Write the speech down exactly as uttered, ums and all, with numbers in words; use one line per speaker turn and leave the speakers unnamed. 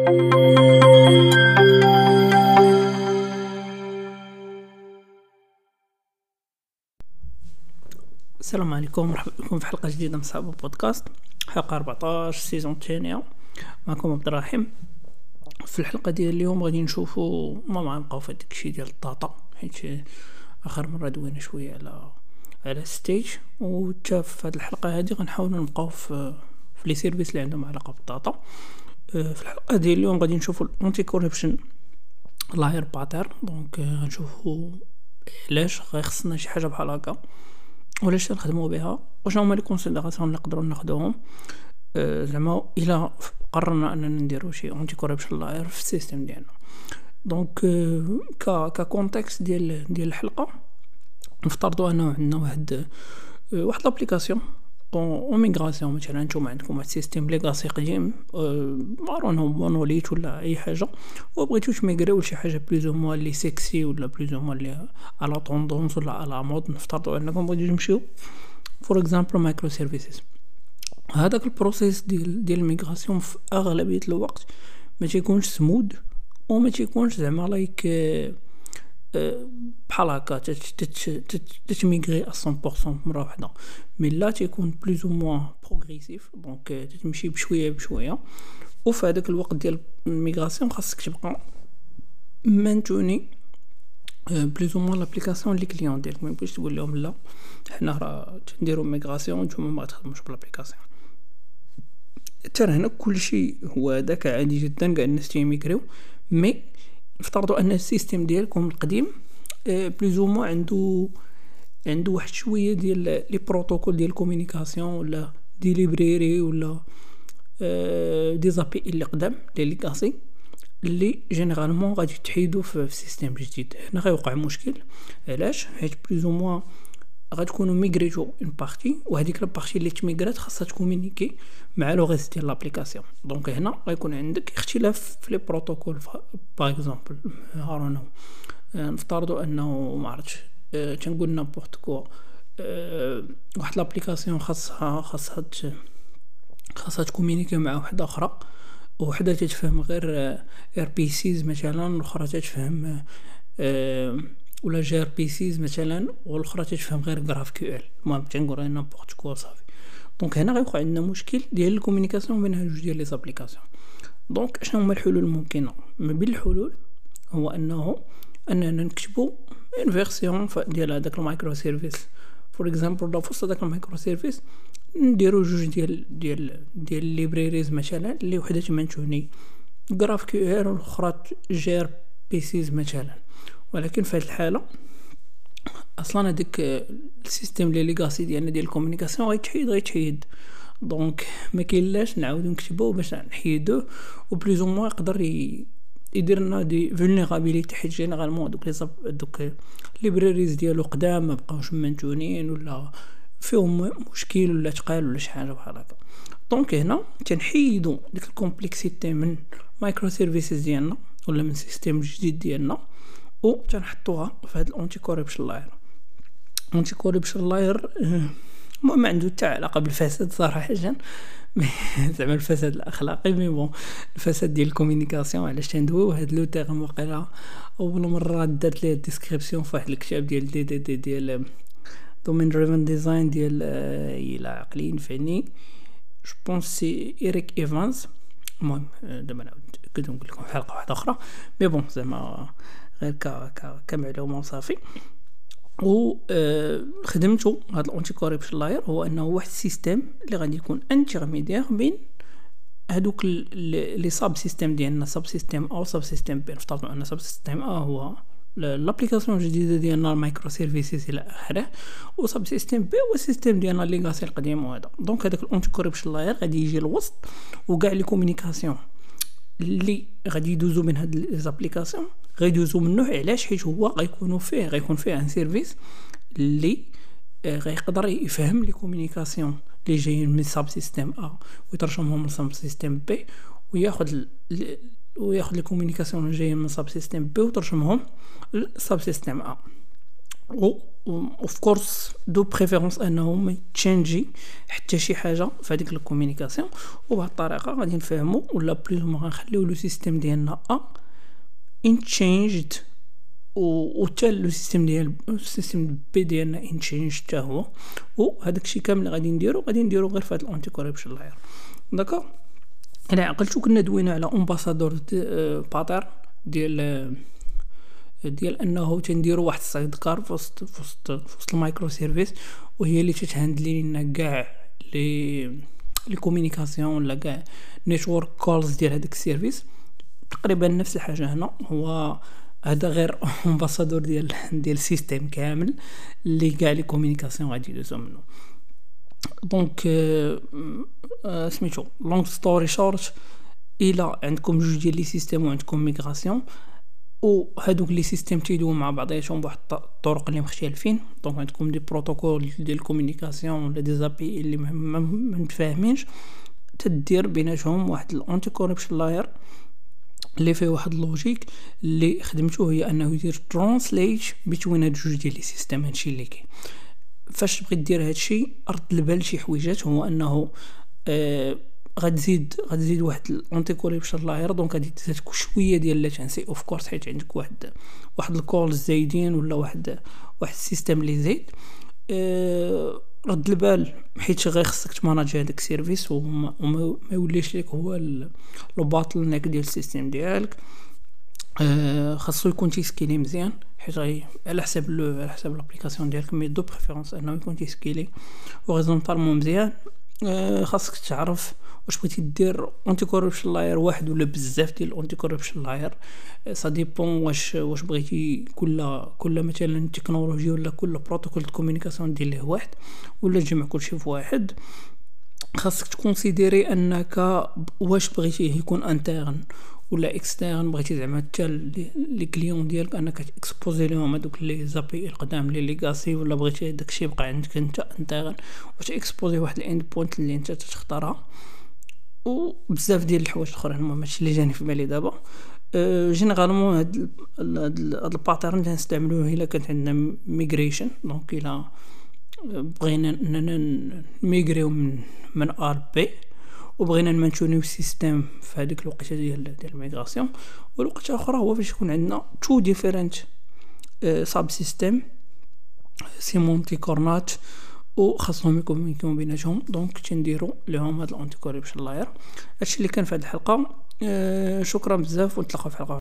السلام عليكم، مرحبا بكم في حلقه جديده من صعب بودكاست، حلقه أربعطاش سيزون الثانيه. معكم عبد الرحيم. في الحلقه ديال اليوم غادي نشوفوا ما غنبقاو في داك الشيء ديال الداتا، حيت اخر مره دوينا شويه على على ستيج، وتا في هذه الحلقه هذه غنحاولوا نبقاو في في لي سيرفيس اللي عندهم علاقه بالداتا. في الحلقه ديال اليوم غادي نشوفوا الانتي كوربشن لاير باترن. دونك غنشوفوا علاش غيخصنا شي حاجه بحال هكا، ولاش نخدموا بها، وشنو هما لي كونسيديراسيون اللي نقدروا ناخذوهم أه زعما الا قررنا اننا نديروا شي انتي كوربشن لاير في السيستم ديالنا. دونك أه ك ك كونتكست ديال ديال الحلقه، نفترضوا انه عندنا واحد أه واحد لابليكاسيون او ميغراسيون. مثلا نتوما عندكم واحد السيستم ليغاسي قديم، مارون هو مونوليت ولا اي حاجه، وبغيتو تميغريو لشي حاجه بلوز او موان لي سيكسي ولا بلوز او موان لي على طوندونس ولا على مود. نفترضوا انكم بغيتو تمشيو فور اكزامبل مايكرو سيرفيسز. هذاك البروسيس ديال ديال الميغراسيون في اغلبيه الوقت ما تيكونش سمود، وما تيكونش زعما لايك بحال هكا تتميغري à cent pour cent مره واحده، مي لا تيكون بلوز او موان بروغريسيف. دونك تمشي بشويه بشويه، وفي هذاك الوقت ديال الميغراسيون خاصك تبقى مانتوني بلوز او موان لابليكاسيون لي كليون ديالك. ما يمكنش تقول لهم لا حنا راه تنديروا ميغراسيون نتوما ما تخدموش بالابليكاسيون. ترى هنا كلشي هو هذاك عادي جدا، كاع الناس تيميغريو، مي افترضوا ان السيستم ديالكم القديم بلوز او موان عنده عنده واحد شويه ديال لي بروتوكول ديال كومونيكاسيون ولا دي ليبريري ولا دي زابي اللي قدام ديال ليغاسي اللي جينيرالمون غادي تحيدوا في السيستم جديد. هنا غيوقع مشكل. علاش؟ حيت بلوز او موان غتكونوا ميغريتو اون بارتي، وهذيك البارتي اللي تميغرات خاصها تكومونيكي مع لو ريست ديال لابليكاسيون. دونك هنا غيكون عندك اختلاف في لي بروتوكول. باغ اكزومبل هارونو نفترضوا انه ما عرفتش أه تنقول نابورت كو أه واحد لابليكاسيون خاصها خاصها خاصها تكومونيكي مع واحده اخرى، وحده تتفهم غير ار بي سيز مثلا، والاخرى تتفهم أه ولا جي ار بي سيز مثلا، والاخرى تتفهم غير جراف كيو ال. المهم تنقول انا نابورت كو صافي. دونك هنا غيوقع عندنا مشكل ديال الكومونيكاسيون بين هاد جوج ديال لي زابليكاسيون. دونك شنو هما الحلول الممكنه؟ ما بين الحلول هو انه اننا نكتبوا ان فيرسيون ديال هذاك المايكرو سيرفيس. فور اكزامبل لو فوسط هذاك المايكرو سيرفيس نديروا جوج ديال ديال ديال ليبريريز مثلا، اللي وحده تمنتوني جراف كيو ال والاخرى جي ار بي سيز مثلا. ولكن في هذه الحاله اصلا هذاك السيستم اللي ليغاسي ديالنا ديال الكومونيكاسيون غيتحيد غيتحيد دونك ما كاينلاش نعاودو نكتبوه باش نحيدوه، وبلوز او موان يقدر يدير لنا دي فولنيرابيليتي، حيت جينيرالمون دوك لي دوك ليبراريز ديالو قدام ما بقاوش مانتونين ولا فيهم مشكل ولا تقال ولا شي حاجه بحال هكا. دونك هنا تنحيدوا ديك الكومبلكسيتي من مايكرو سيرفيسز ديالنا ولا من سيستم جديد ديالنا، و تنحطوها في هذا الانتي كوربشن لاير. انتي كوربشن لاير ما عنده حتى علاقه بالفساد صراحه، زعما الفساد الاخلاقي، مي بون الفساد ديال الكومونيكاسيون. علاش تندويو هاد لو تيرم؟ وقيلا اول مره درت ليه ديسكريبسيون في واحد الكتاب ديال دي دي دي ديال دومين دريفن ديزاين ديال الى عقلي نفعني جو بونس سي إيريك إيفانز. المهم دابا نعاود نتاكد ونقول لكم حلقه واحده اخرى، مي بون زعما غير ك ك كمعلومه وصافي. و آه خدمته هذا الانتي كوربشن لاير هو انه واحد السيستم اللي غادي يكون انترميديير بين هذوك لي ساب سيستم ديالنا، ساب سيستم او ساب سيستم بي. نفترضوا ان ساب سيستم ا هو لابليكاسيون الجديده ديالنا المايكرو سيرفيسز الى اخره، و ساب سيستم بي هو السيستم ديالنا ليغاسي القديم. وهذا دونك هذاك الانتي كوربشن لاير غادي يجي الوسط، وكاع لي كومونيكاسيون اللي غادي يدوزو من هاد لي زابليكاسيون غيدوزو منه. علاش؟ حيت هو غيكونوا فيه غيكون فيه ان سيرفيس اللي غيقدر يفهم لي كومونيكاسيون اللي جايين من ساب سيستم ا ويترجمهم لساب سيستم بي، وياخذ وياخذ لي كومونيكاسيون اللي جايين من ساب سيستم بي وترجمهم لساب سيستم ا. اوف كورس دو بريفيرونس انه ما تشينجي حتى شي حاجه في هذيك الكومونيكاسيون. وبهذه الطريقه غادي نفهموا ولا بليز ما غنخليو لو سيستيم ديالنا ا ان تشينجد و حتى لو سيستيم ديال السيستيم بي ديالنا ان تشينج حتى هو. وهذاك الشيء كامل اللي غادي نديرو غادي نديرو غير في هذا الانتي كوربشن لاير. داكوغ الا عقلتو كنا دوينا على امباسادور باترن ديال ديال انه تنديروا واحد السايد كار في وسط في وسط في وسط المايكرو سيرفيس، وهي اللي تتهندلي لنا كاع لي لي كومونيكاسيون ولا كاع نيتورك كولز ديال هذاك السيرفيس. تقريبا نفس الحاجه هنا، هو هذا غير امباسادور ديال ديال السيستيم كامل اللي كاع لي كومونيكاسيون غادي يدوزو منه. دونك سميتو لونغ ستوري شورت، الى عندكم جوج ديال لي سيستيم وعندكم ميغراسيون وهادوك لي سيستيم تيدويو مع بعضياتهم بواحد الطرق اللي مختلفين. دونك عندكم دي بروتوكول ديال الكومونيكاسيون ولا دي زابي اللي ما متفاهمينش، تدير بيناتهم واحد الانتي كوربشن لاير اللي فيه واحد اللوجيك اللي خدمته هي انه يدير ترانسليت بين هاد جوج ديال لي سيستيم. هادشي اللي كاين فاش تبغي دير هادشي رد البال شي حويجات، هو انه آه غتزيد غتزيد واحد الانتي كوربشن لاير. دونك غادي تزيد شويه ديال لاتنسي اوف كورس حيت عندك واحد واحد الكول زايدين ولا واحد واحد السيستم اللي زايد. أه رد البال حيت غير خصك تماناجي هذاك السيرفيس وما وما يوليش لك هو لو باتل نيك ديال السيستم ديالك. أه خاصو يكون تيسكيلي مزيان حيت غي على حساب لو على حساب لابليكاسيون ديالك، مي دو بريفيرونس انه يكون تيسكيلي اوريزونطالمون مزيان. أه خاصك تعرف واش بغيتي دير انتي كوربشن لاير واحد ولا بزاف ديال الانتي كوربشن لاير. سا ديبون واش واش بغيتي كل كل مثلا تكنولوجي ولا كل بروتوكول دو كومونيكاسيون دير ليه واحد ولا تجمع كلشي في واحد. خاصك تكونسيديري انك واش بغيتيه يكون انترن ولا اكسترن، بغيتي زعما حتى لي كليون ديالك انك تاكسبوزي لهم هذوك لي زابي القدام لي ليغاسي، ولا بغيتي داكشي يبقى عندك انت انترن وتاكسبوزي واحد الاند بوينت اللي انت تختارها. وبزاف ديال الحوايج الاخرين المهم هادشي اللي جاني في بالي دابا. أه جينيرالمون هاد هاد الباترن تنستعملوه الا كانت عندنا ميغريشن. دونك الا بغينا اننا نميغريو من من ار بي وبغينا نمانتونيو السيستم في هذيك الوقيته ديال ديال الميغراسيون. والوقت اخرى هو فاش يكون عندنا تو ديفيرنت ساب سيستم سيمونتي كورنات وخاصهم يكونوا بيناتهم. دونك تنديروا لهم هاد الانتي كوربشن لاير. هادشي اللي كان في هذه الحلقه. أه شكرا بزاف ونتلاقاو في حلقه